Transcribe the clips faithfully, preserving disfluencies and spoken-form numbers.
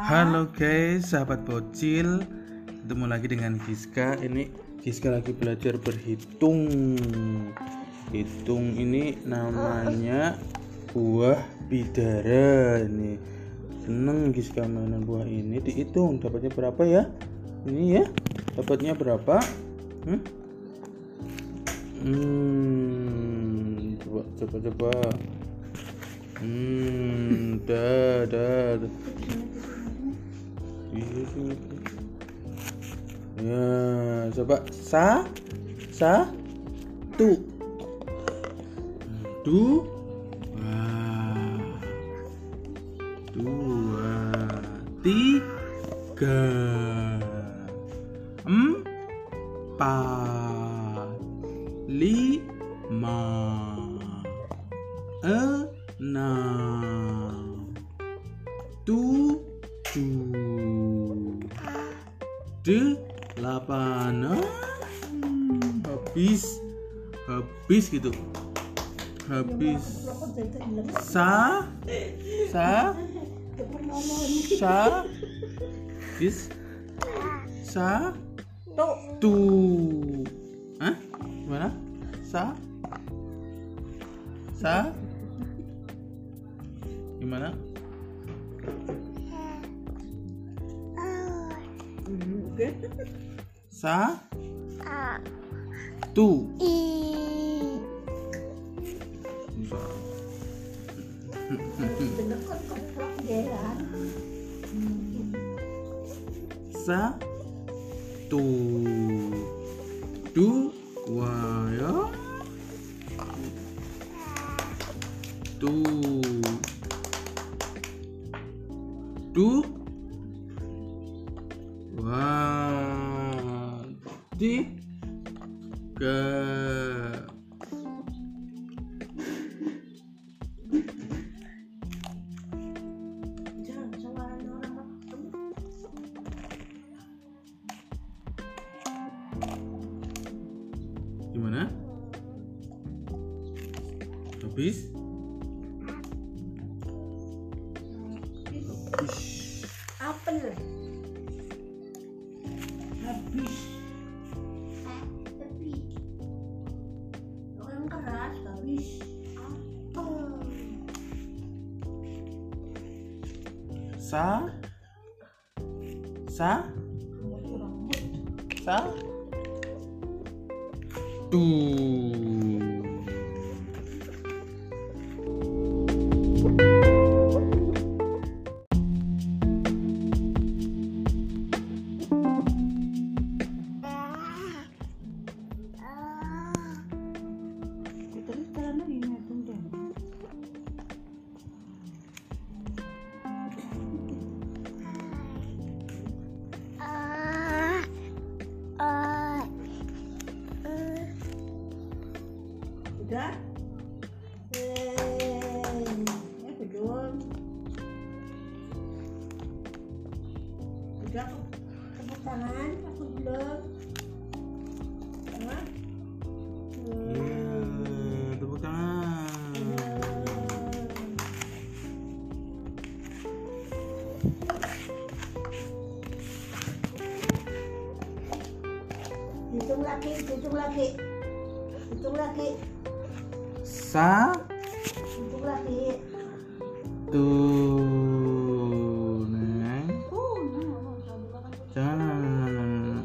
Halo guys, sahabat bocil, ketemu lagi dengan Giska. Ini Giska lagi belajar berhitung. Hitung ini namanya buah bidara. Ini seneng Giska mainan buah ini. Dihitung dapatnya berapa ya? Ini ya, dapatnya berapa? Hmm, hmm coba coba coba. Hmm, dah dah. Ya, coba sa sa tu du wah dua tiga empat lima enam tujuh delapan. Hmm, habis habis gitu habis sa sa sa bis sa tu. Hah? Gimana? Sa sa gimana? Sa tu sa tu dua ya tu du wah tiga gimana? Habis? Habis. Apel. Habis. Tapi orang keras habis. Apel. Sa sa sa tu. Udah? Eh, ya belum. Udah tepuk tangan, aku belum. Tangan. Ya, tepuk tangan. Hitung lagi, hitung lagi. Hitung lagi. Sa Hitung lagi. tu neng. Jangan.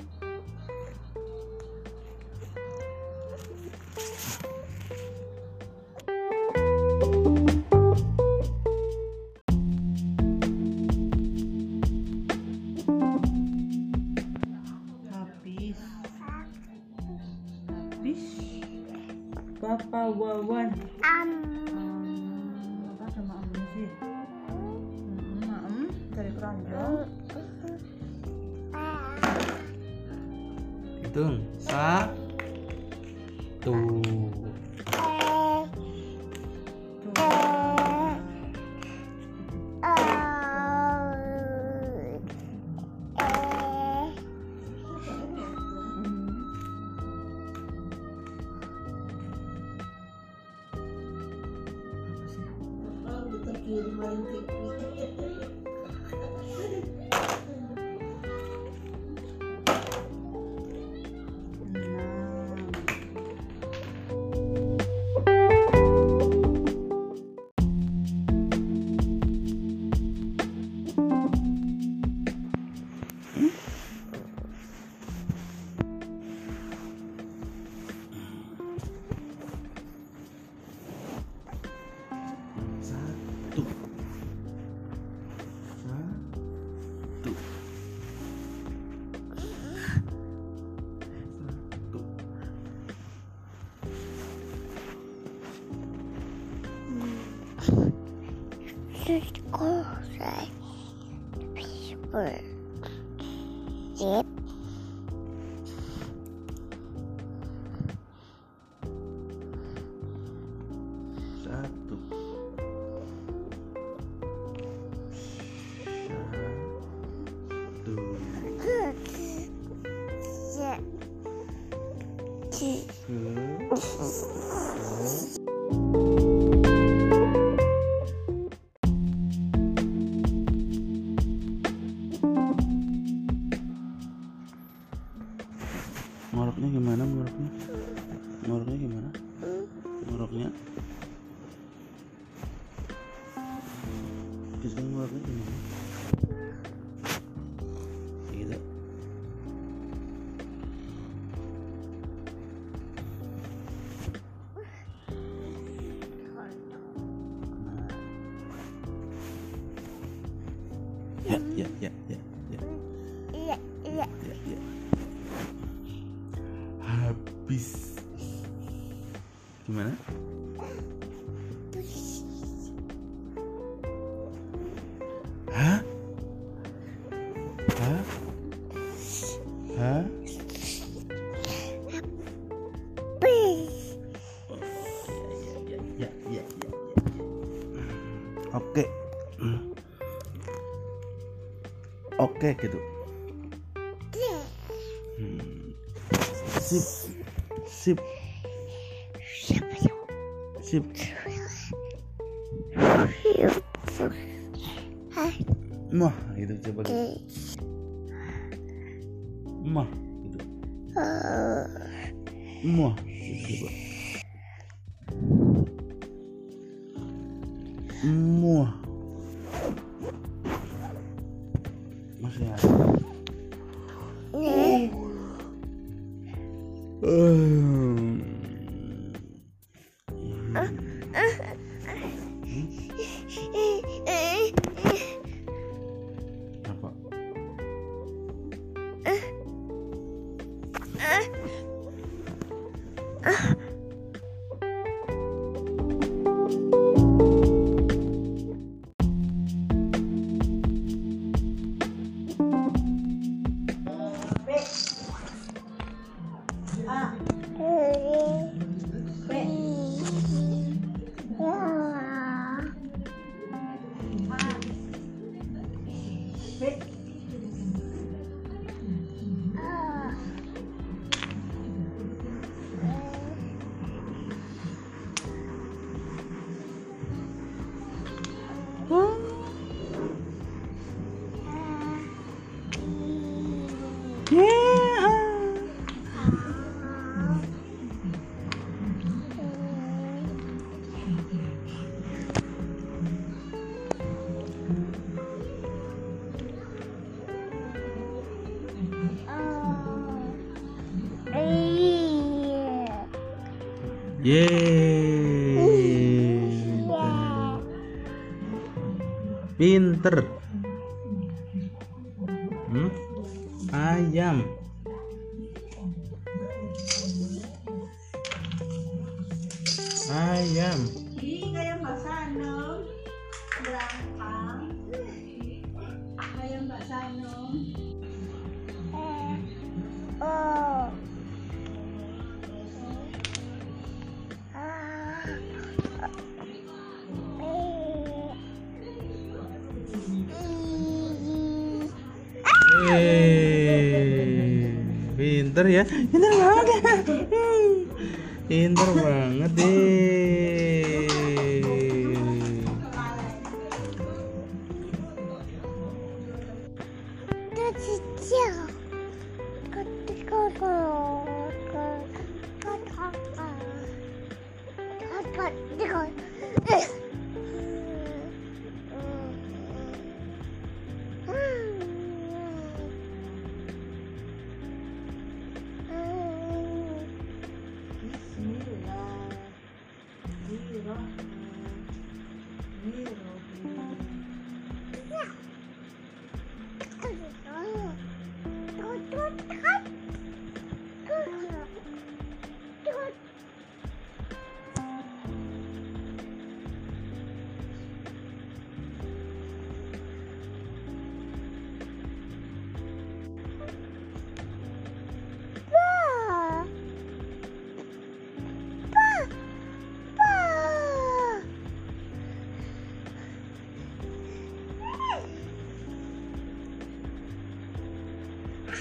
Habis habis Bapak Wawan am apa sama am sih am dari keranjang Hitung sa tu kiri main T V. Zip. Satu. Ngoroknya gimana? Ngoroknya? Ngoroknya gimana? Ngoroknya? Kita ngoroknya gimana? Gitu. Ya, ya, ya, ya, ya. Iya, iya. Ya, ya. Habis. Gimana? Hah? Hah? Hah? Ya, ya, ya, ya, ya. Oke. Oke gitu. Hmm. Sip. Sip. Sip. Mah gitu coba gitu. Mah gitu. Mah gitu coba. Muah. Masih ada. Um. Apa? Yeay, pinter. Hmm? Ayam. Ayam. Di kayak Mbak Sanom belakang. Kayak Mbak Sanom. Oh. Yeay, pinter ya, pinter banget ya, pinter banget deh.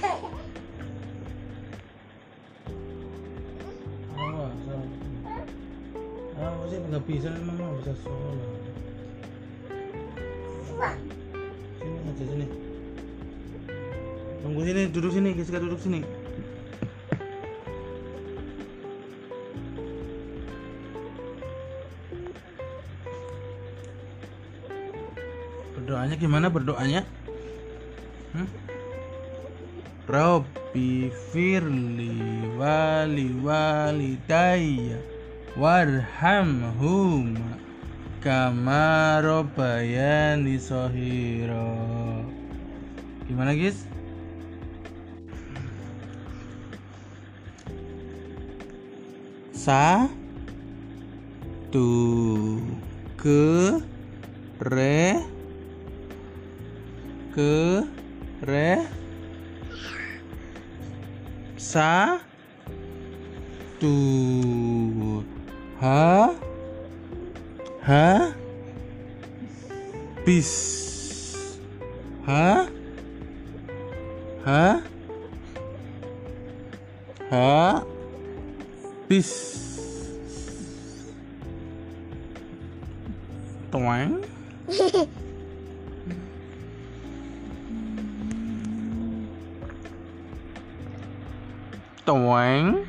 Awas, awas sih nggak bisa, memang nggak bisa sholat. Sini aja sini. Tunggu sini, duduk sini, Giska duduk sini. Berdoanya gimana berdoanya? Hmm? Rabbi firli wali walidayya warhamhuma kama rabbayani shaghira. Gimana guys? Sa tu ke re ke re sa tu ha ha bis ha ha ha bis toang toang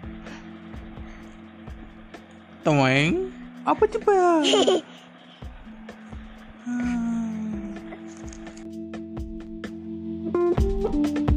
toang apa coba? Hmm.